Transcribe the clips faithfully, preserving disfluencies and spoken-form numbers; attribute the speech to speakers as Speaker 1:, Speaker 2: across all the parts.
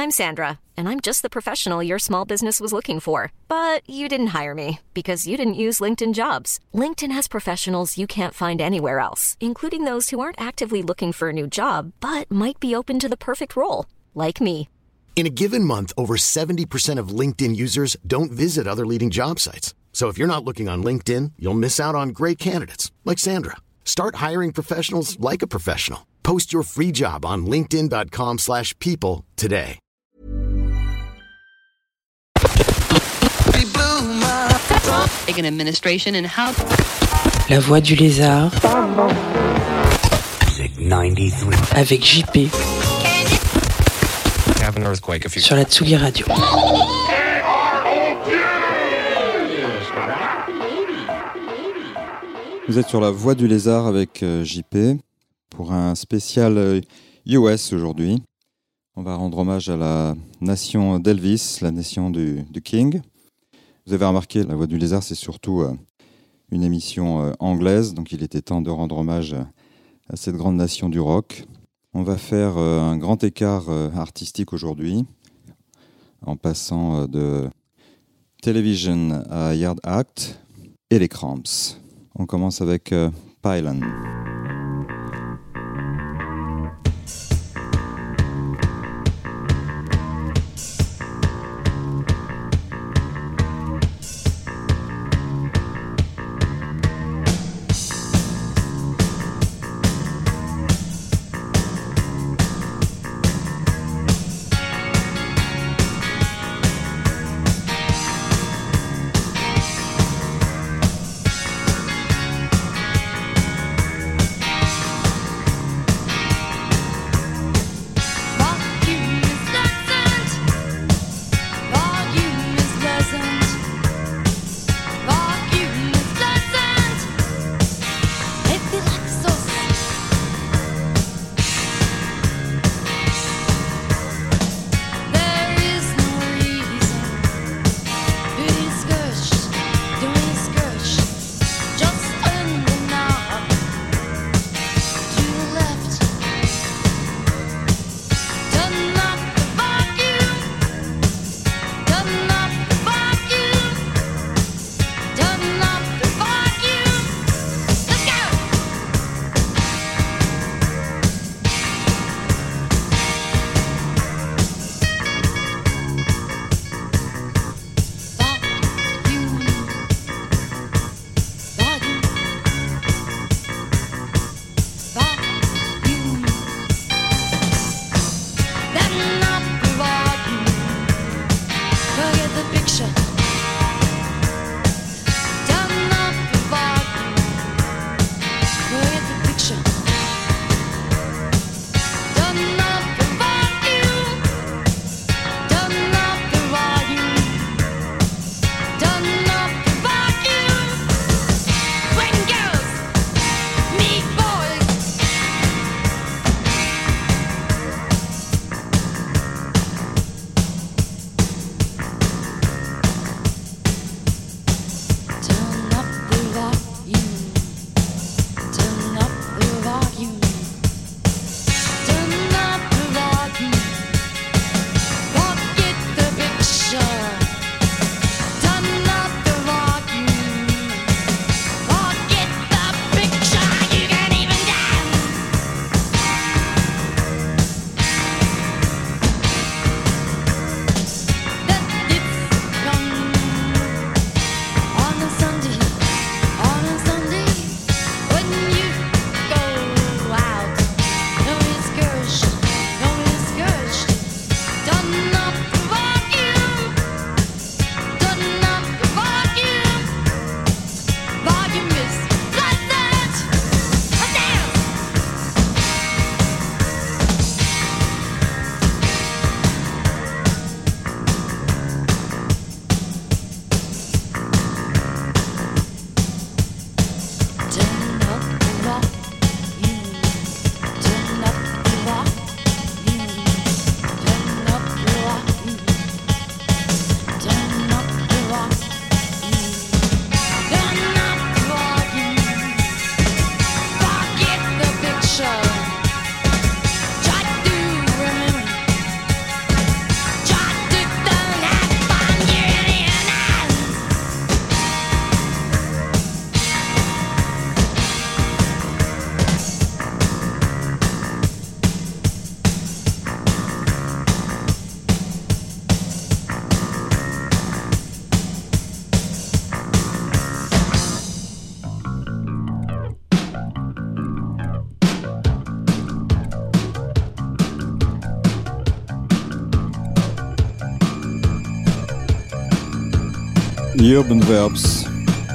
Speaker 1: I'm Sandra, and I'm just the professional your small business was looking for. But you didn't hire me because you didn't use LinkedIn Jobs. LinkedIn has professionals you can't find anywhere else, including those who aren't actively looking for a new job, but might be open to the perfect role, like me.
Speaker 2: In a given month, over seventy percent of LinkedIn users don't visit other leading job sites. So if you're not looking on LinkedIn, you'll miss out on great candidates like Sandra. Start hiring professionals like a professional. Post your free job on linkedin.com slash people today.
Speaker 3: An administration and how...
Speaker 4: La voix du lézard. Avec J P. Sur la Tsugi Radio.
Speaker 5: Vous êtes sur la voie du lézard avec euh, J P pour un spécial euh, U S aujourd'hui. On va rendre hommage à la nation d'Elvis, la nation du, du King. Vous avez remarqué, la voie du lézard, c'est surtout euh, une émission euh, anglaise, donc il était temps de rendre hommage à, à cette grande nation du rock. On va faire euh, un grand écart euh, artistique aujourd'hui, en passant euh, de Television à Yard Act et les Cramps. On commence avec euh, Pylon. The Urban Verbs.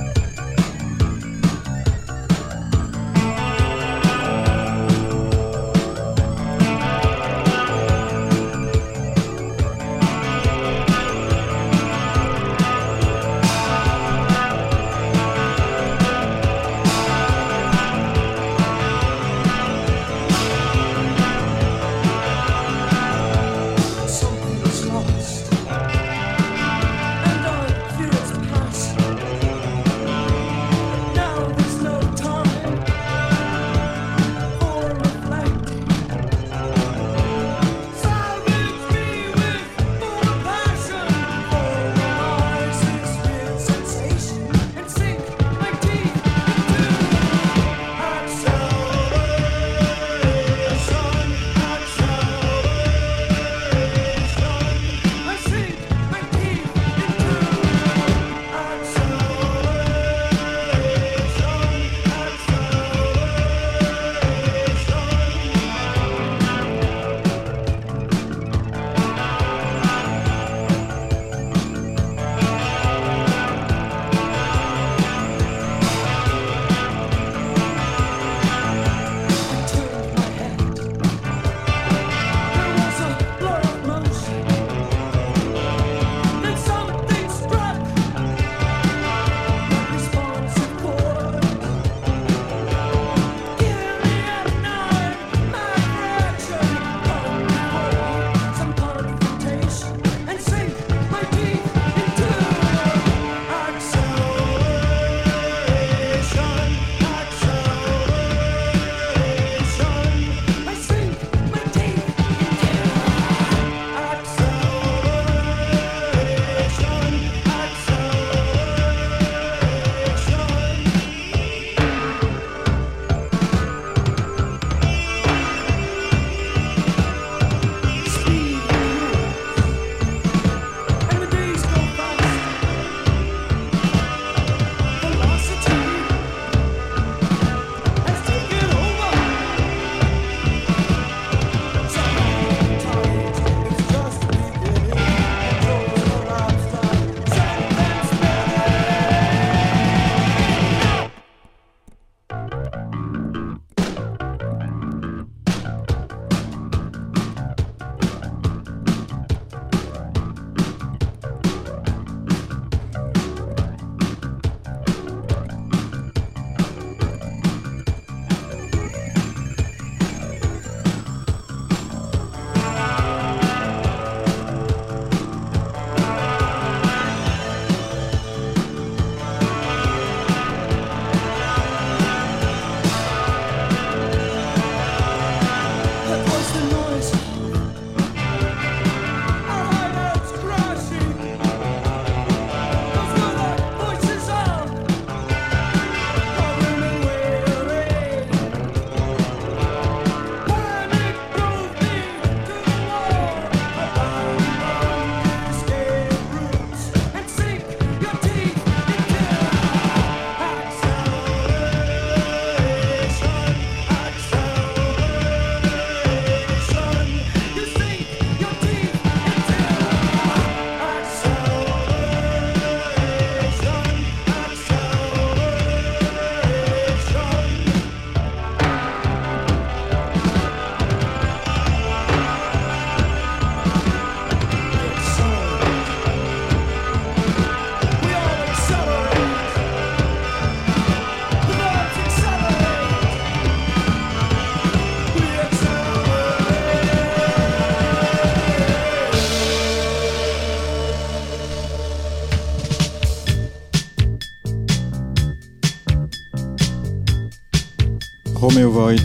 Speaker 6: Romeo Void.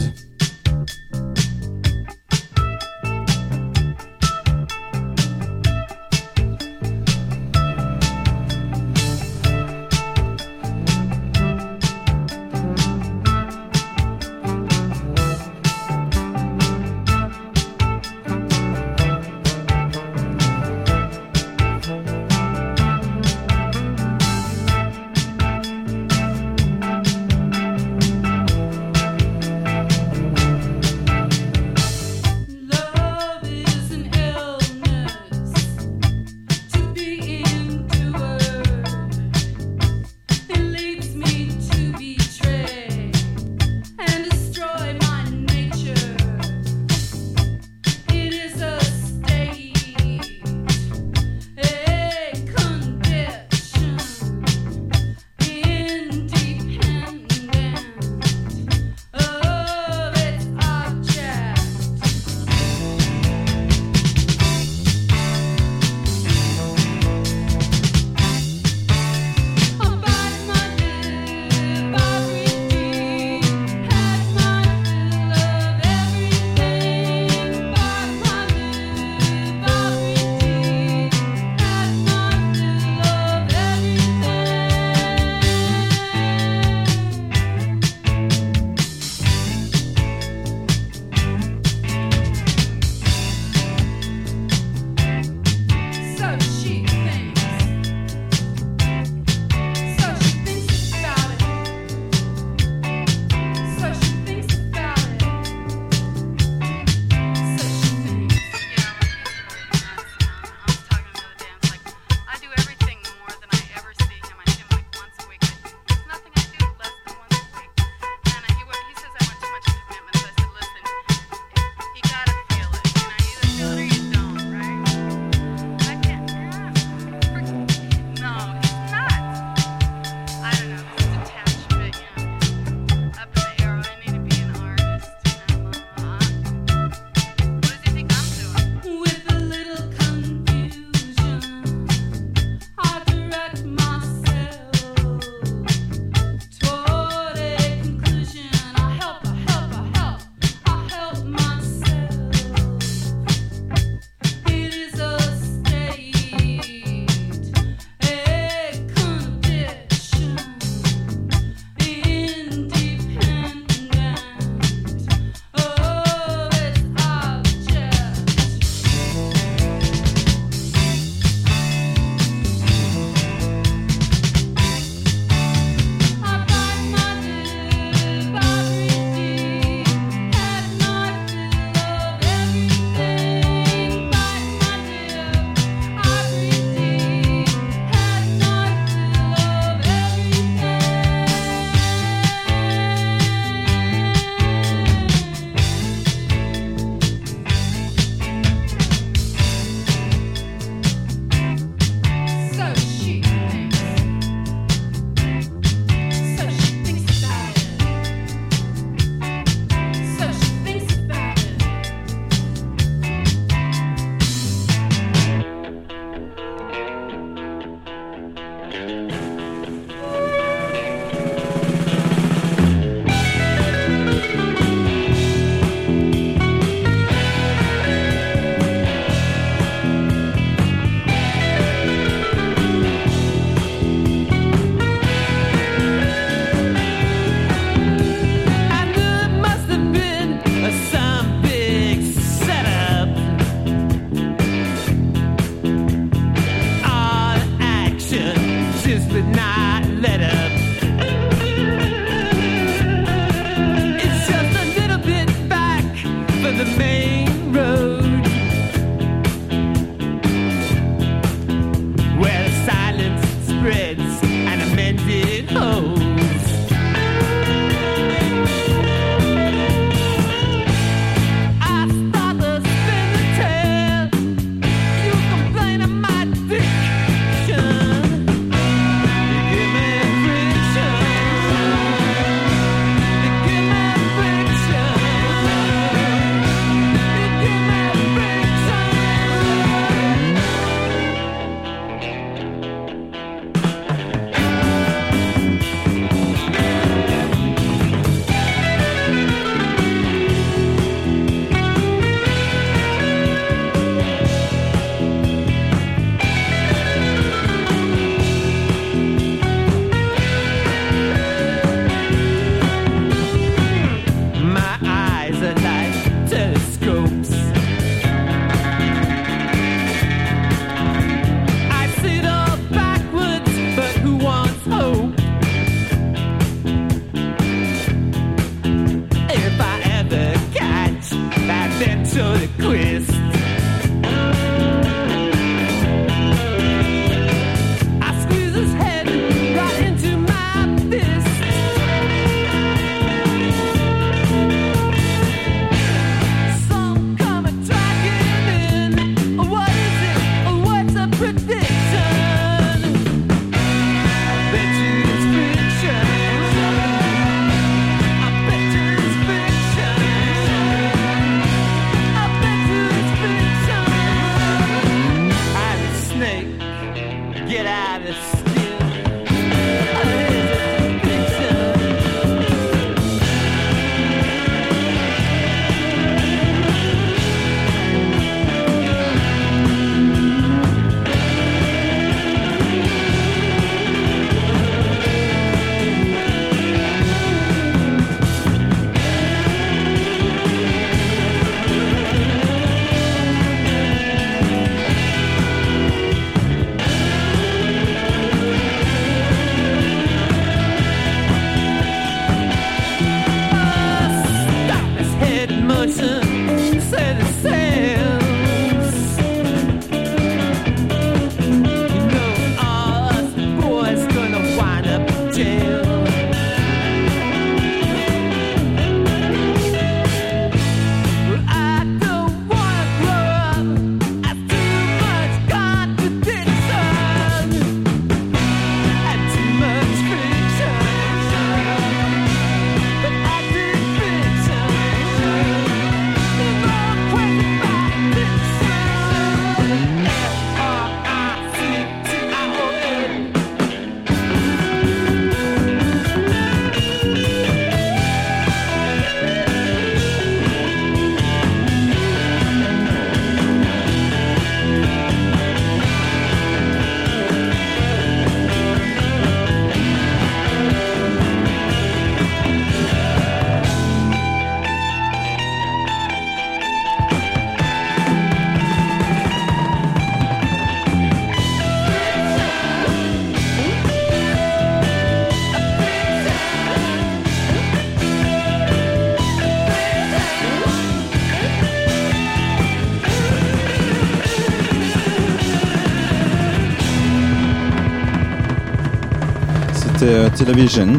Speaker 6: c'était euh, Television.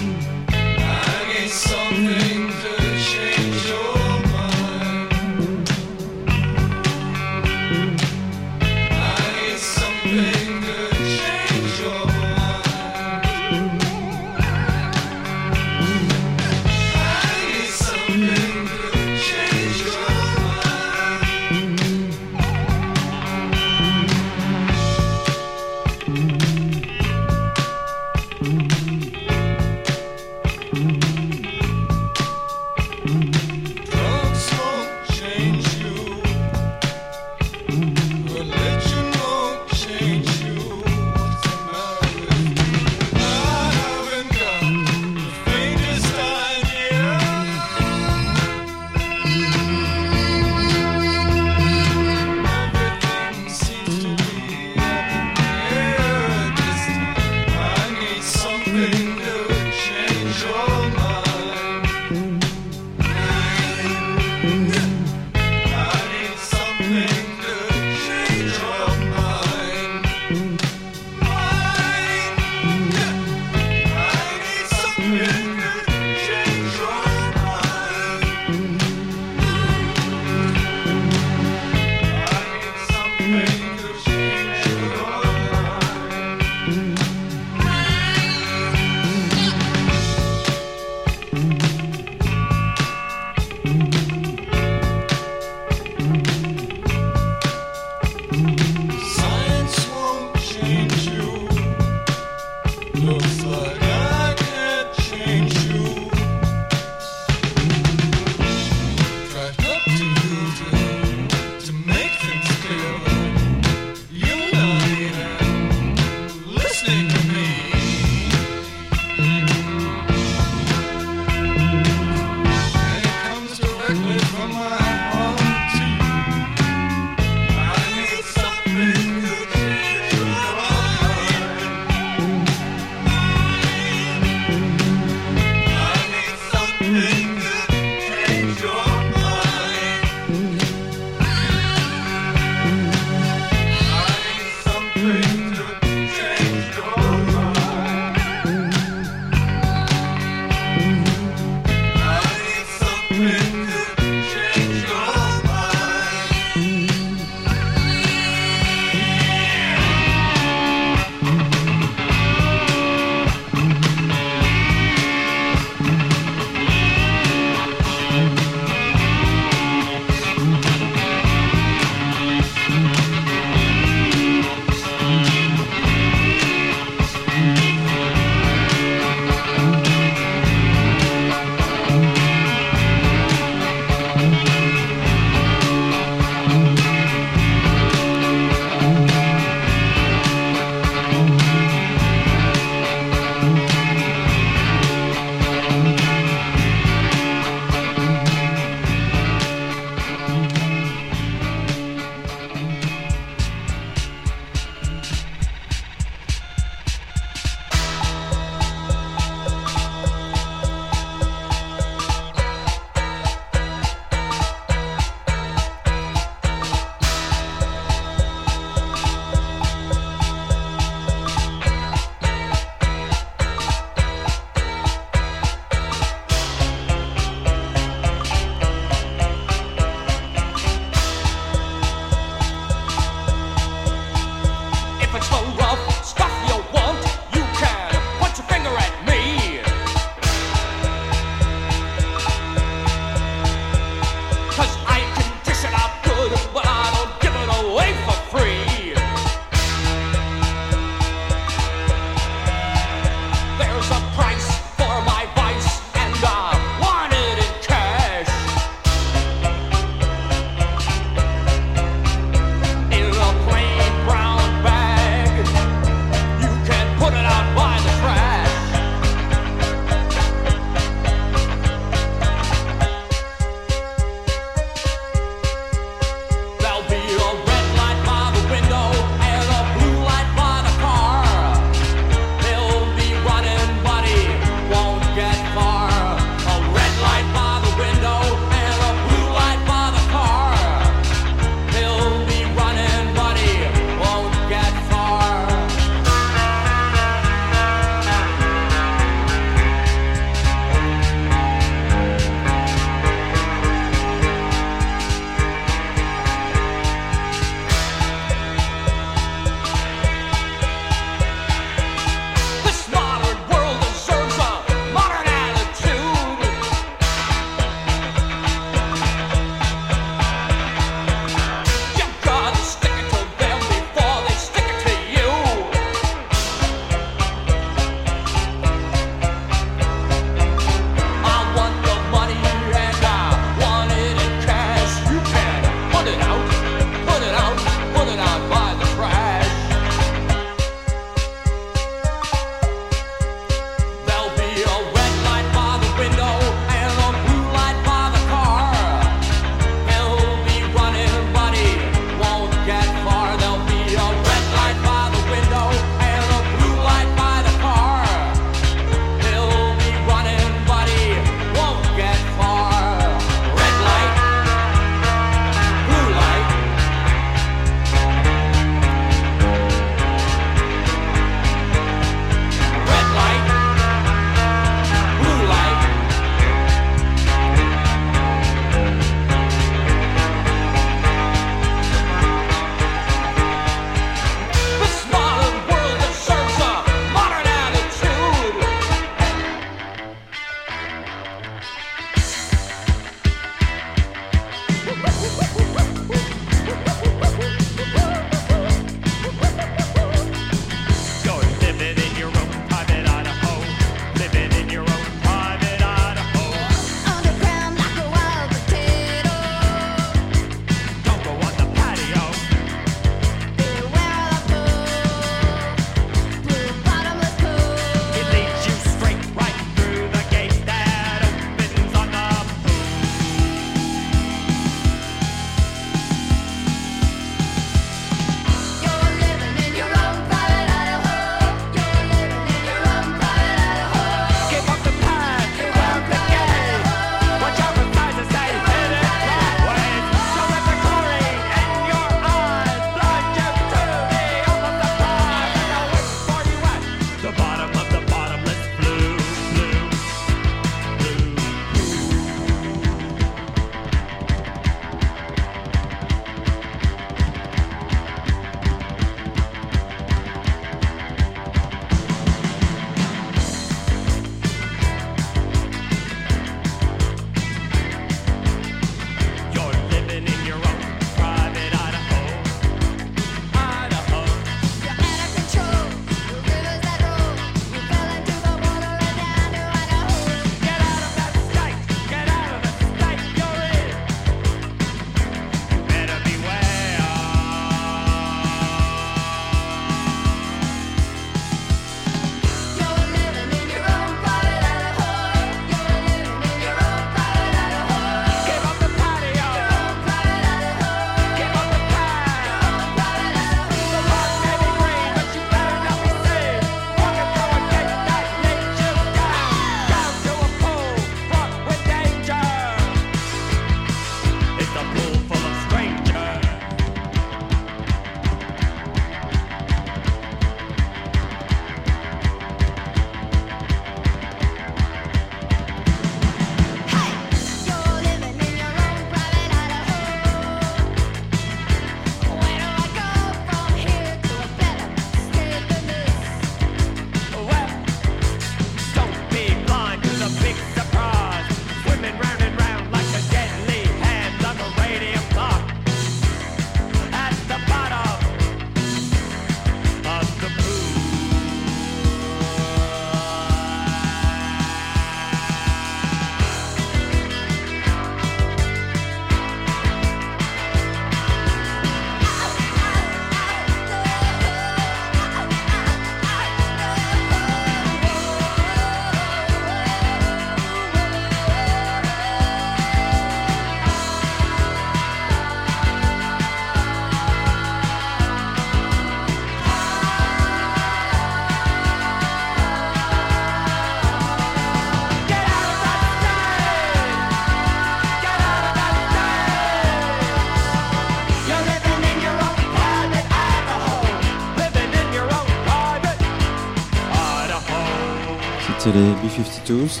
Speaker 5: C'était les B cinquante-deux.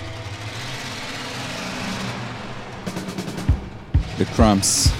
Speaker 5: The Cramps.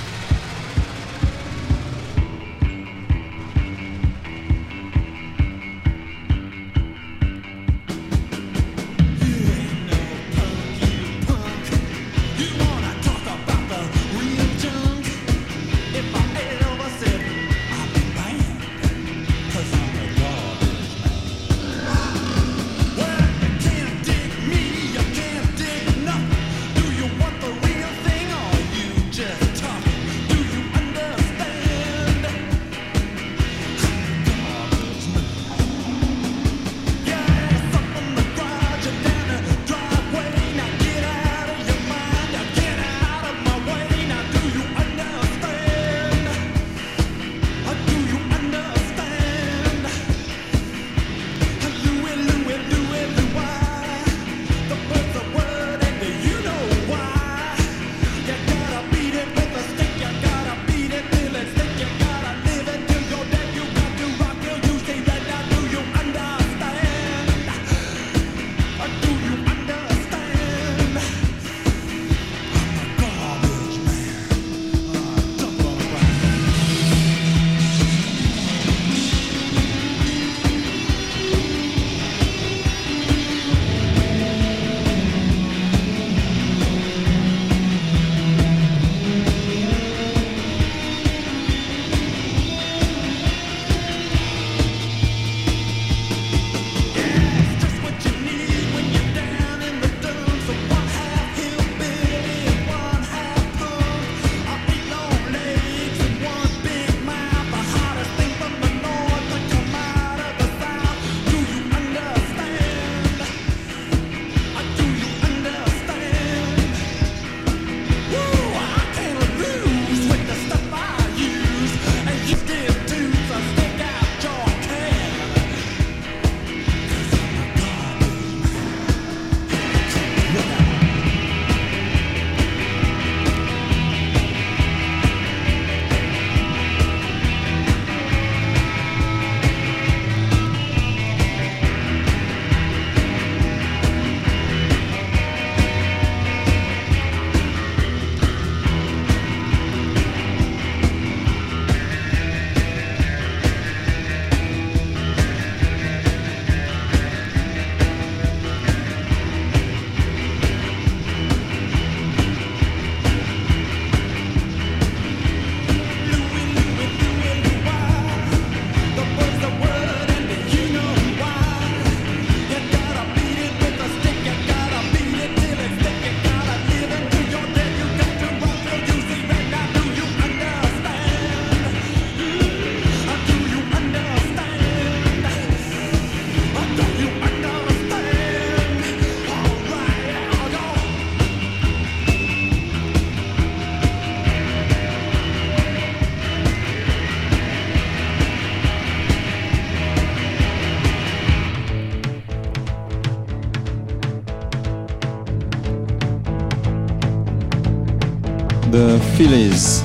Speaker 5: The Phillies.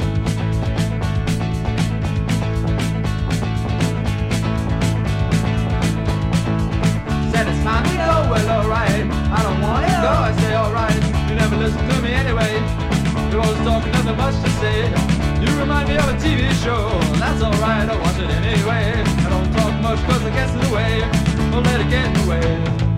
Speaker 7: Said it's time to go, well alright. I don't wanna go, I say alright. You never listen to me anyway. You're always talking, nothing much to say. You remind me of a T V show. That's alright, I watch it anyway. I don't talk much cause it gets in the way. Don't let it get in the way.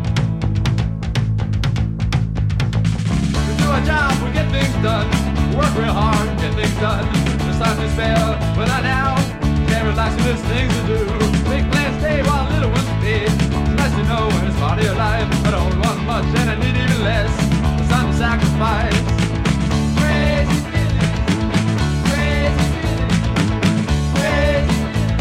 Speaker 7: We do our job, we get things done. Work real hard, get things done. There's time to spare, but not now. Can't relax when there's things to do. Big plans stay while little ones feed. It's nice to know when it's part of your life. I don't want much and I need even less. It's time to sacrifice. Crazy feeling, crazy feeling, crazy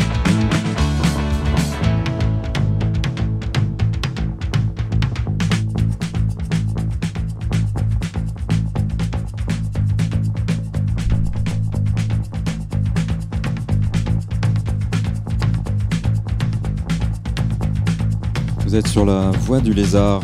Speaker 5: Vous êtes sur la voie du lézard.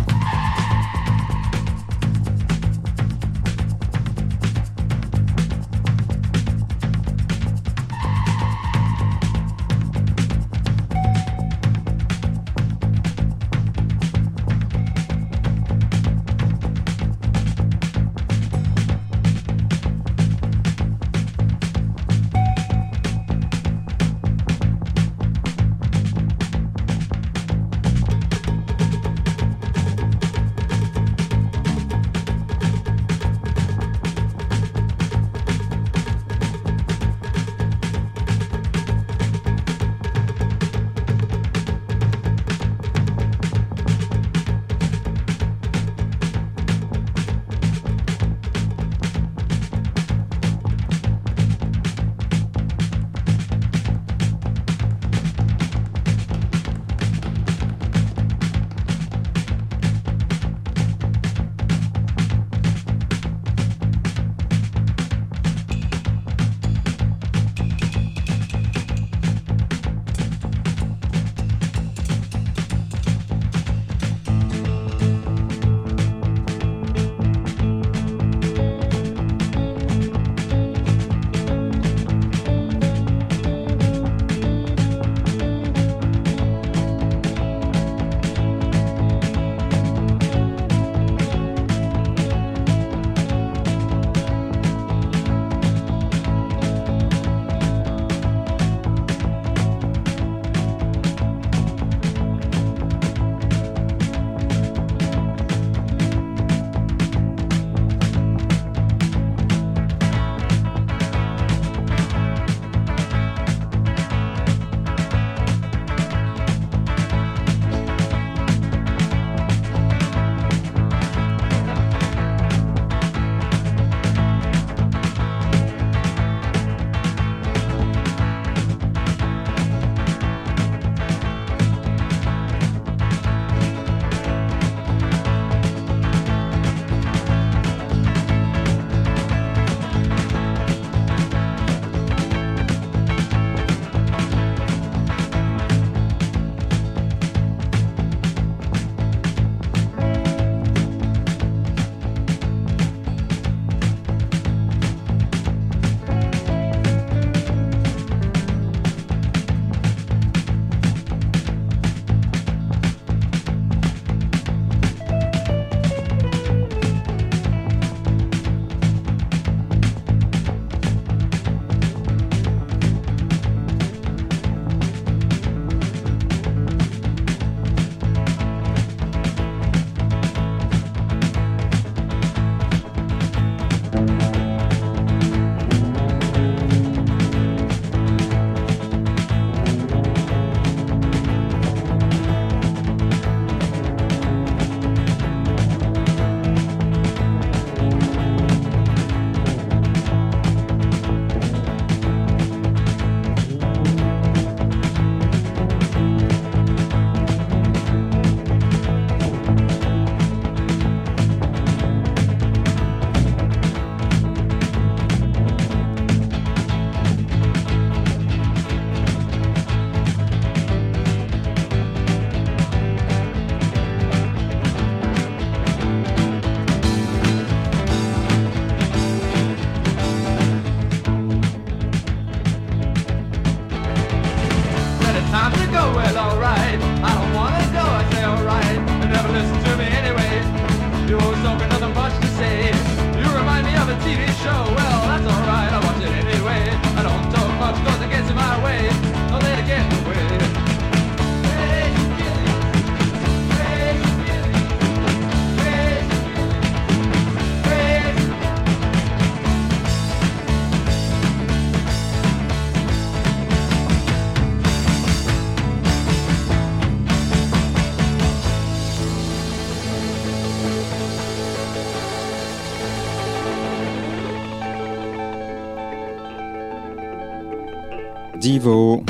Speaker 5: Devo.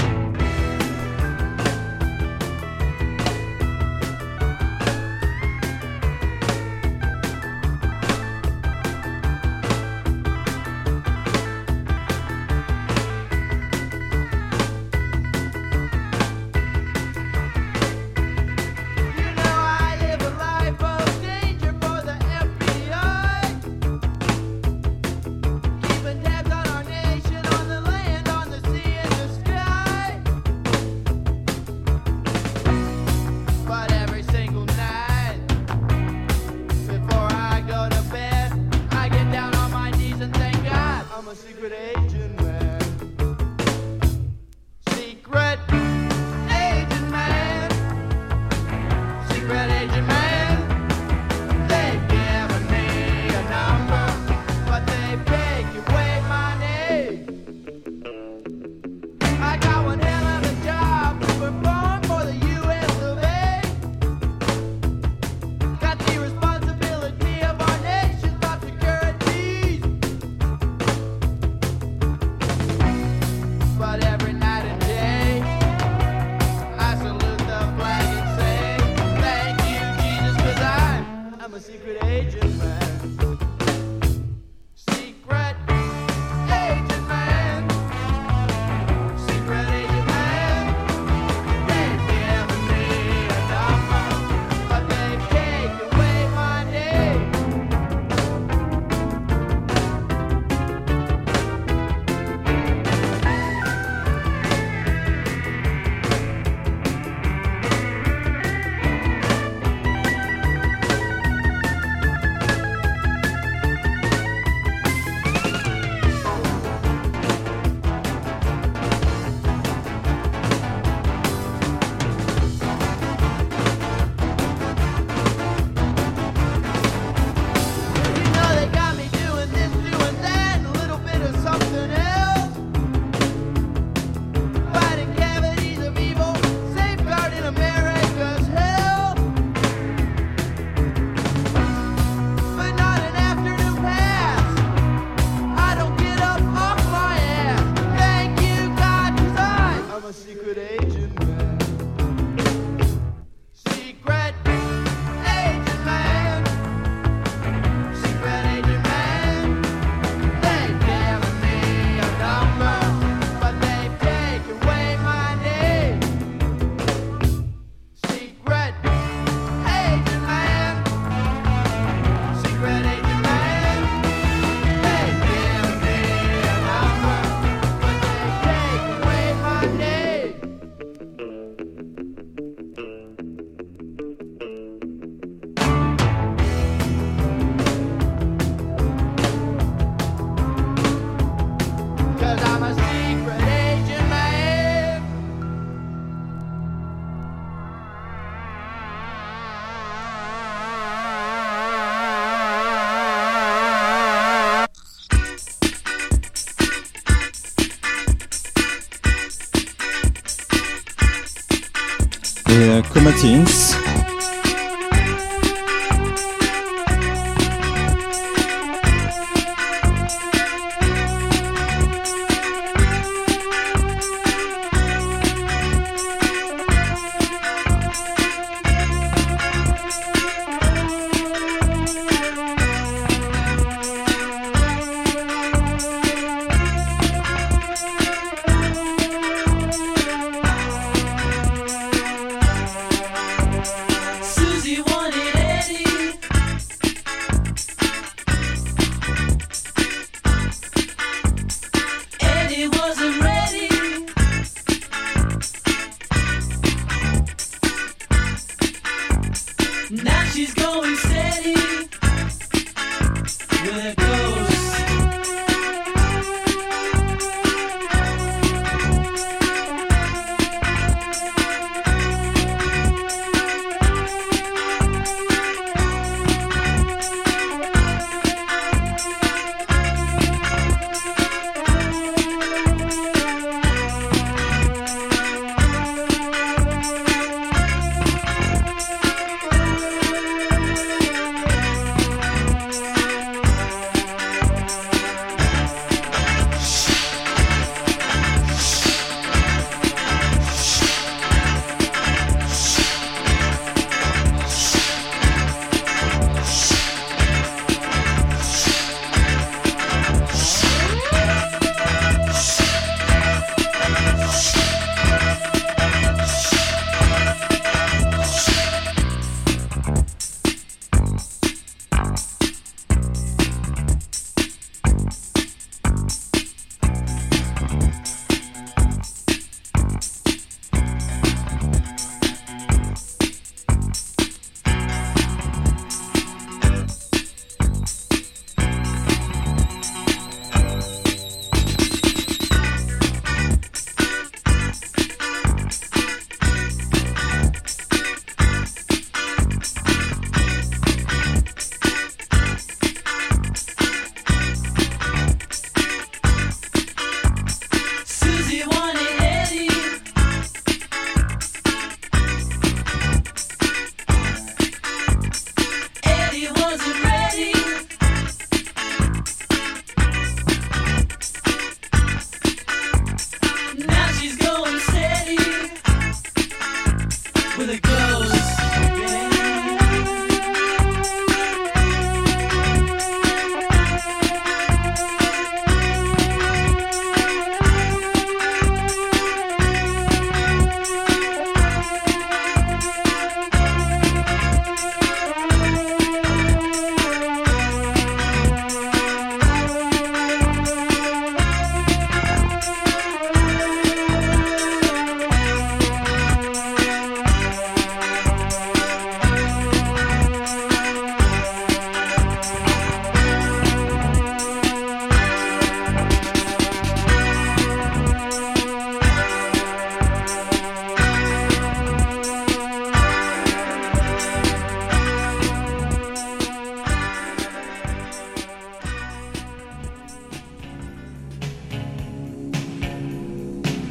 Speaker 5: Et Comatins.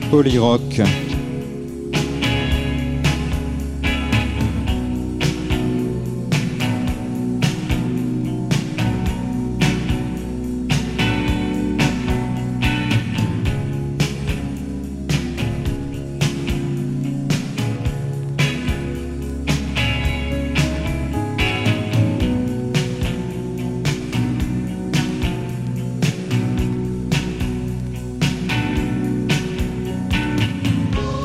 Speaker 5: Polyrock.
Speaker 7: Thank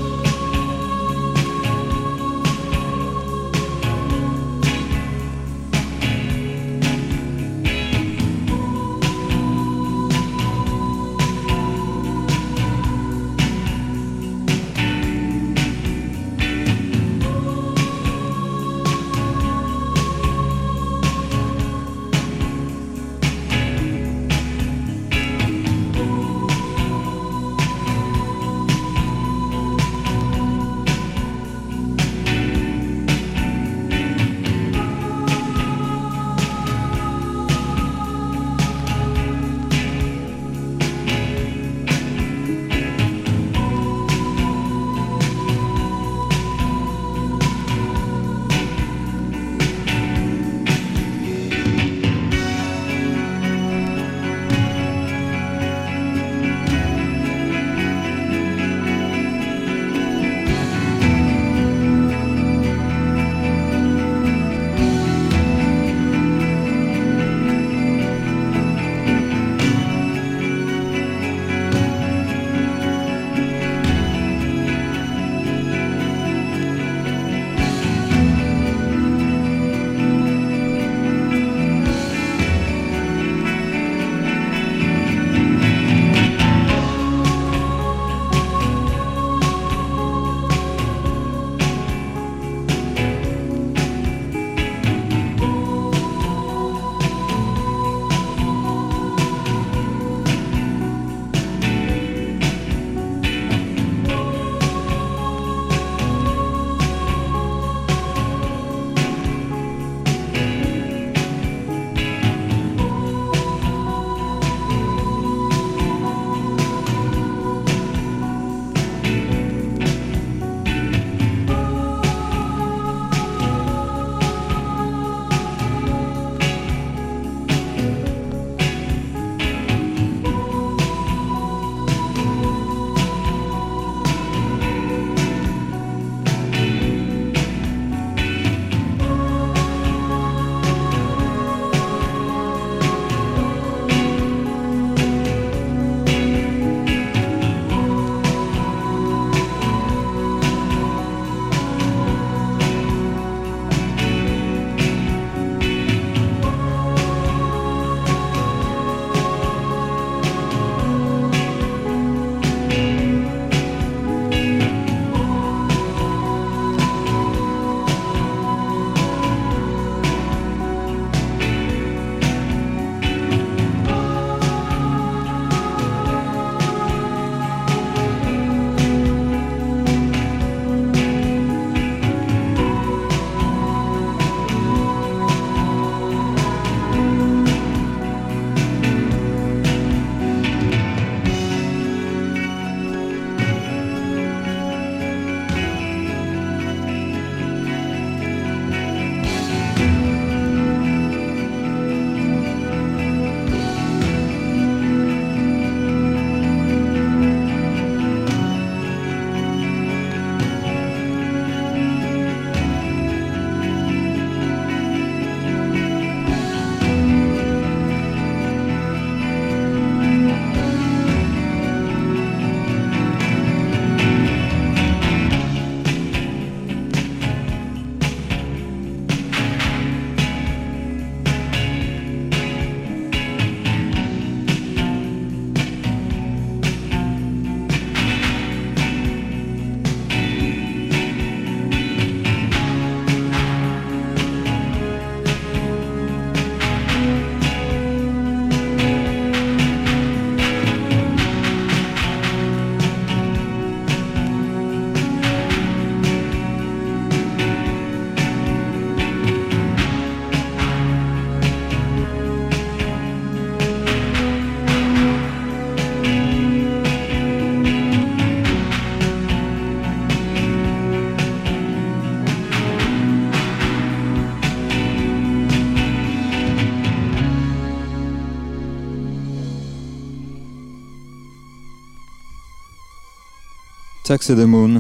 Speaker 5: Taxi the Moon.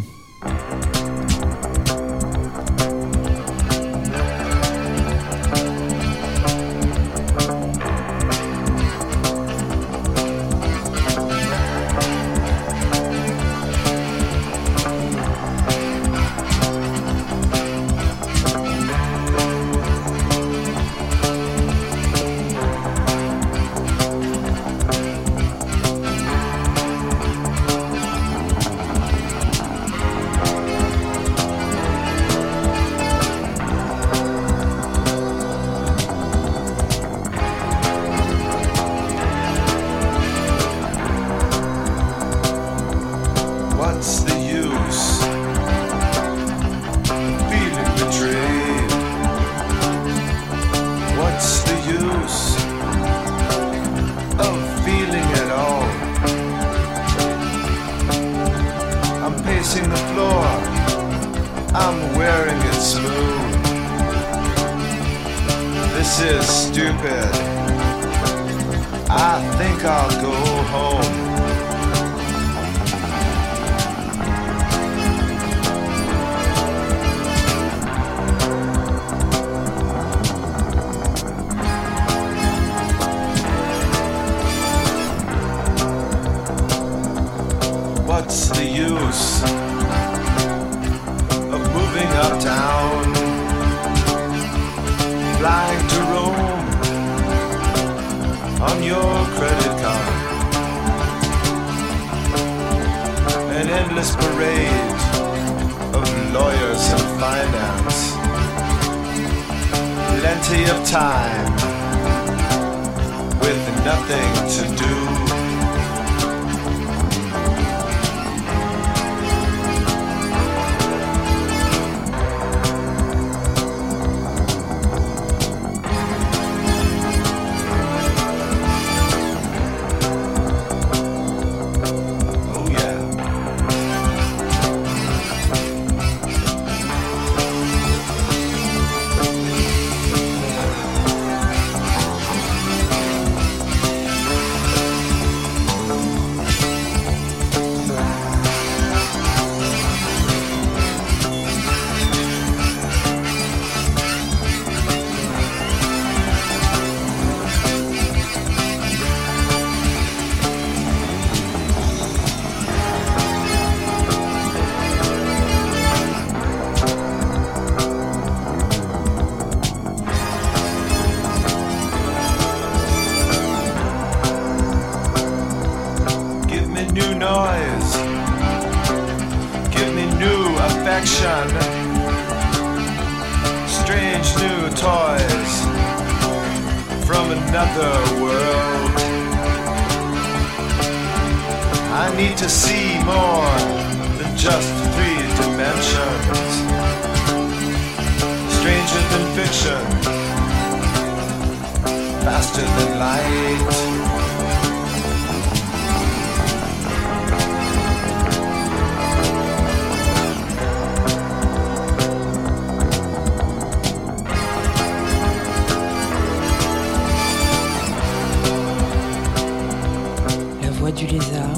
Speaker 4: Du Lézard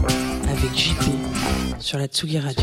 Speaker 4: avec J P sur la Tsugi Radio.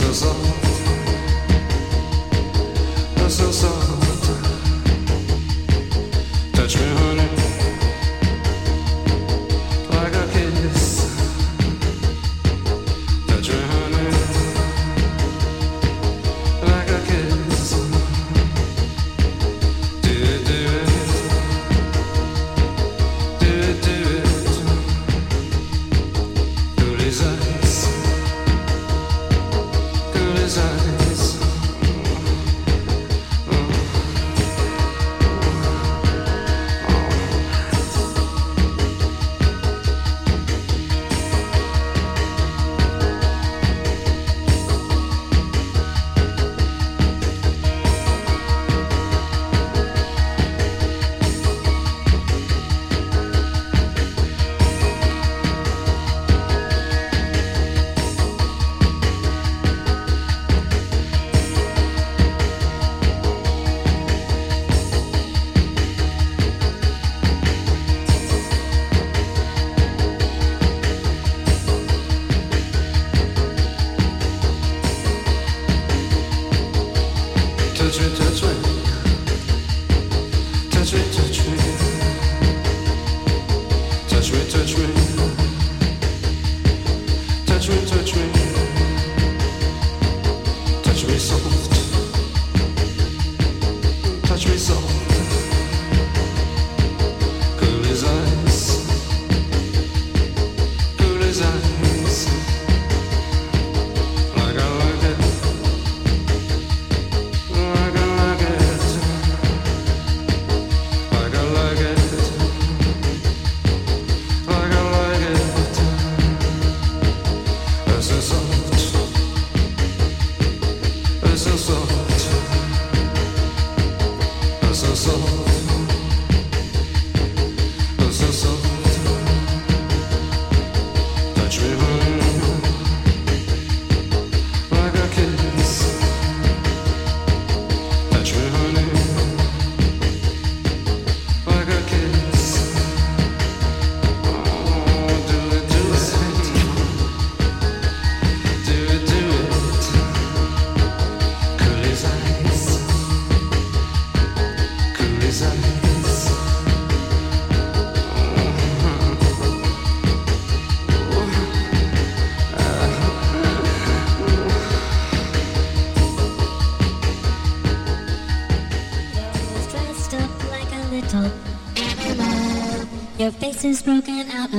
Speaker 8: Your face is broken out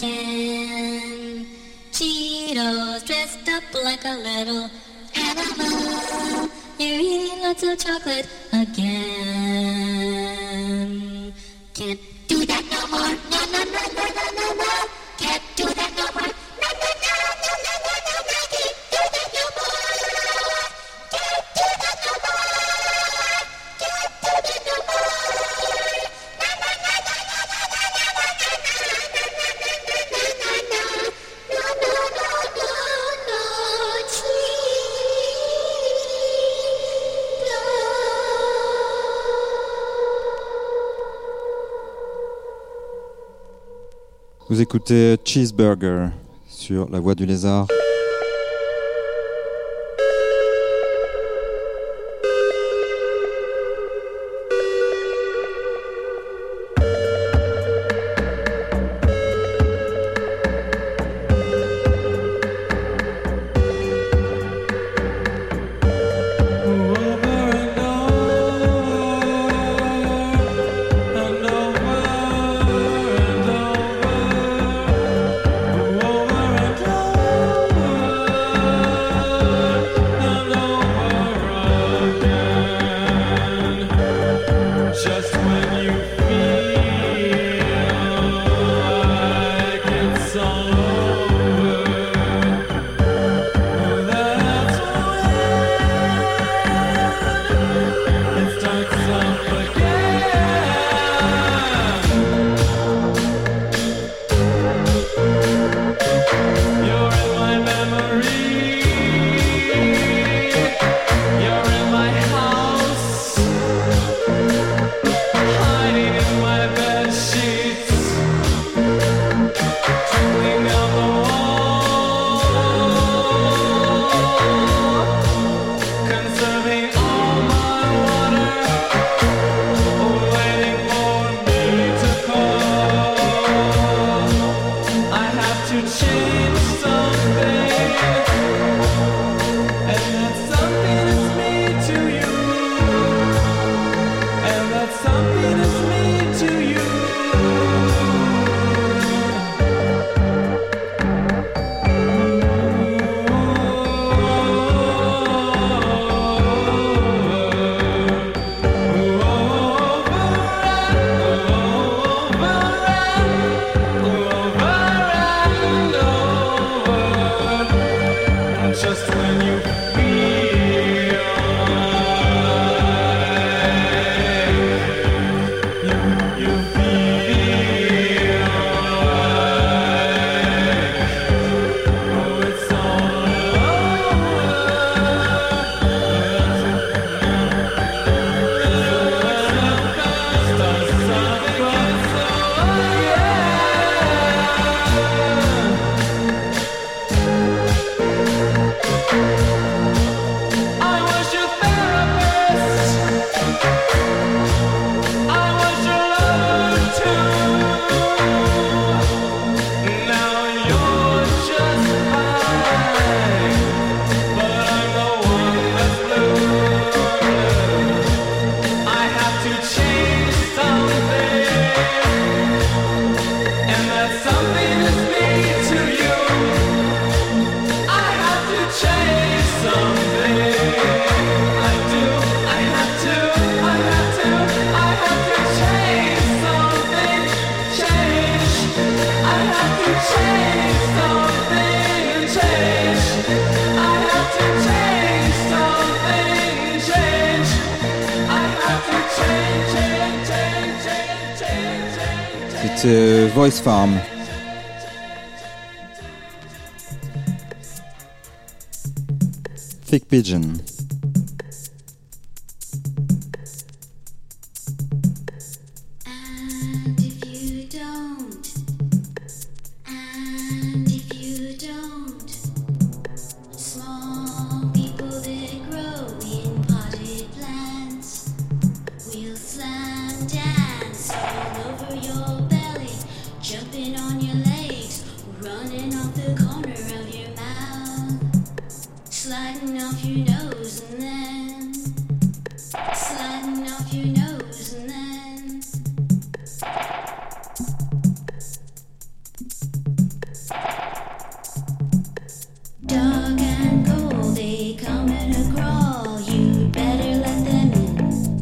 Speaker 8: again. Cheetos dressed up like a little animal. You're eating lots of chocolate again. Can't do that no more. No, no, no, no, no, no, no. Can't do that no more. No, no, no, no, no, no, no, no. Can't do that no more. Can't do that no more. Can't do that no more.
Speaker 5: Vous écoutez Cheeseburger sur La Voix du Lézard.
Speaker 7: Oh, just when you feel like you, you feel like oh, it's all
Speaker 5: C'était Voice Farm. Thick Pigeon.
Speaker 8: And if you don't, and if you don't, small people that grow in potted plants will slam dance all over your belly, jumping on your legs, running off the corner of your mouth, sliding off your nose and then sliding off your nose and then dog and cold, they come in a crawl, you better let them in.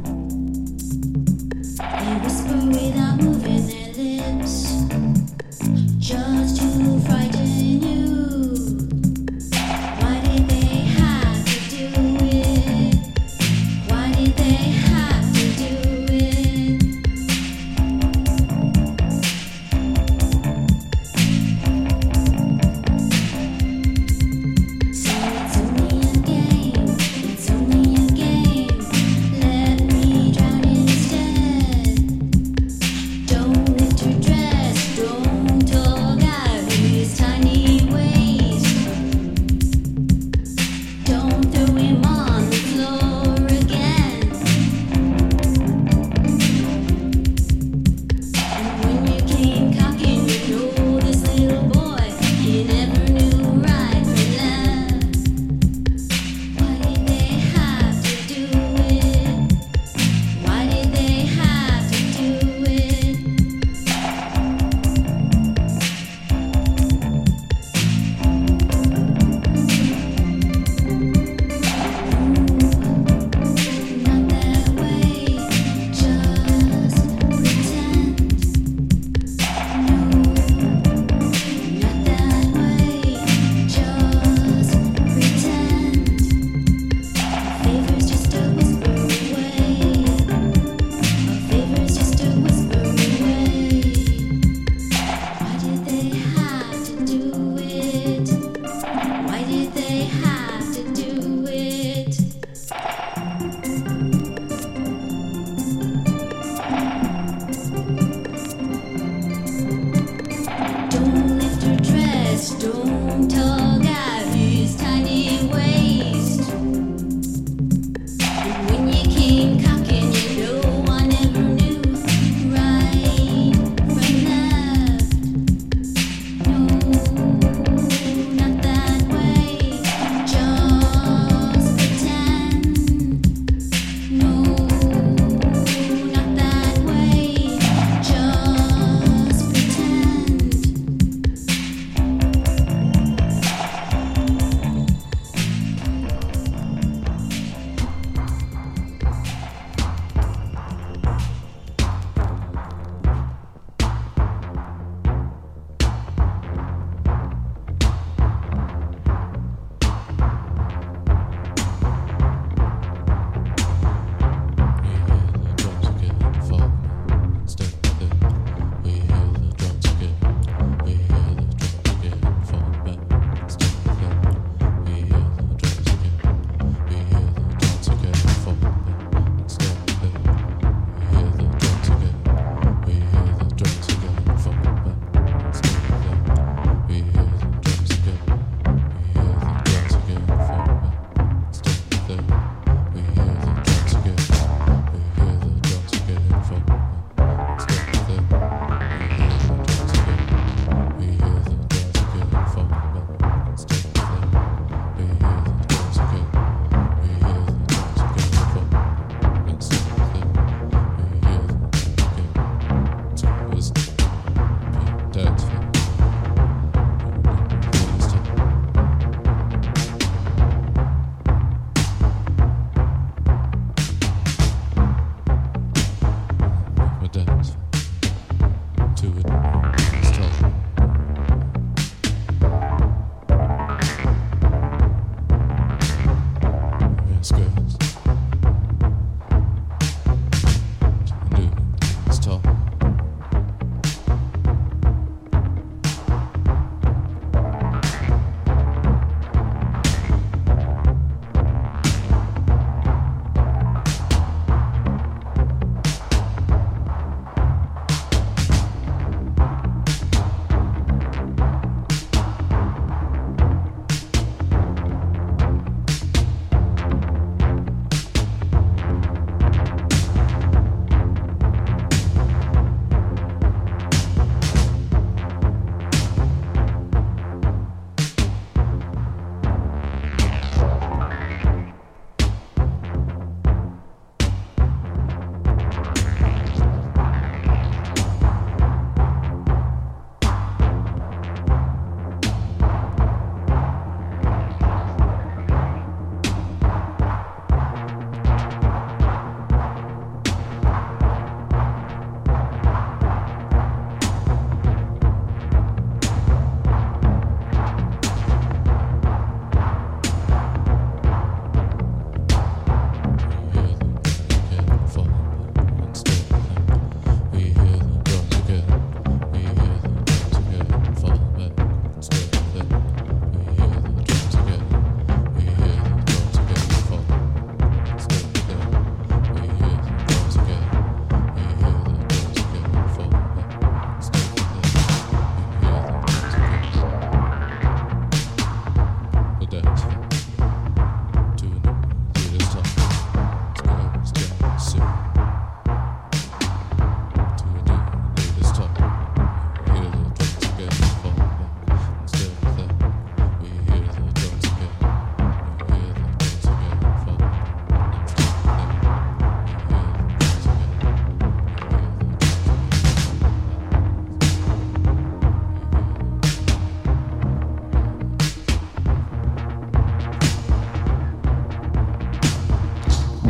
Speaker 8: They whisper without moving their lips, just to frighten you. Why did they have to do it? Why did they have to do it? So it's only a game, it's only a game. Let me drown instead. Don't lift your dress, don't tug out his tiny waist. Don't throw him on the floor again. And when you came cocking, you know this little boy, he never knew right from left. Why did they have to do it? Why did they have to do it? Not that way, just pretend. No, not that way, just pretend. A favor's just a whisper away. A favor's just a whisper away. Why did they have to do it? Why did they have to do it? Don't lift her dress, don't tug out his tiny waist. And when you came cocking, you know I never knew right from left. No, not that way, just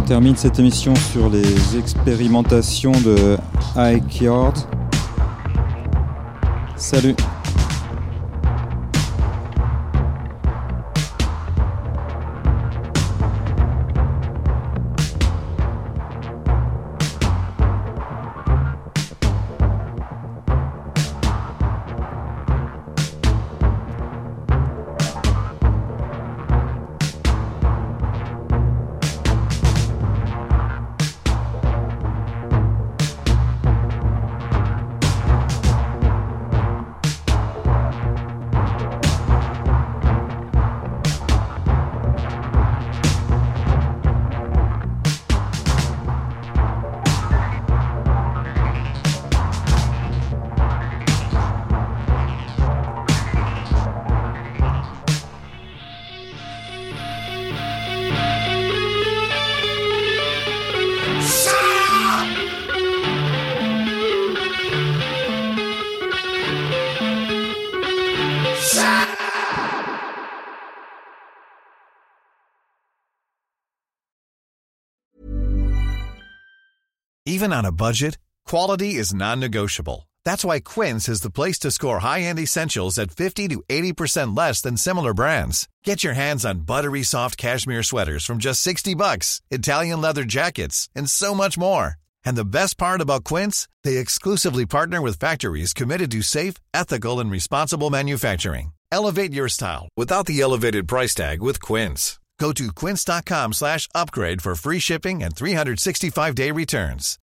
Speaker 5: On termine cette émission sur les expérimentations de Ike Yard. Salut!
Speaker 9: Even on a budget, quality is non-negotiable. That's why Quince is the place to score high-end essentials at fifty to eighty percent less than similar brands. Get your hands on buttery soft cashmere sweaters from just sixty bucks, Italian leather jackets, and so much more. And the best part about Quince, they exclusively partner with factories committed to safe, ethical, and responsible manufacturing. Elevate your style without the elevated price tag with Quince. Go to quince.com slash upgrade for free shipping and three sixty-five day returns.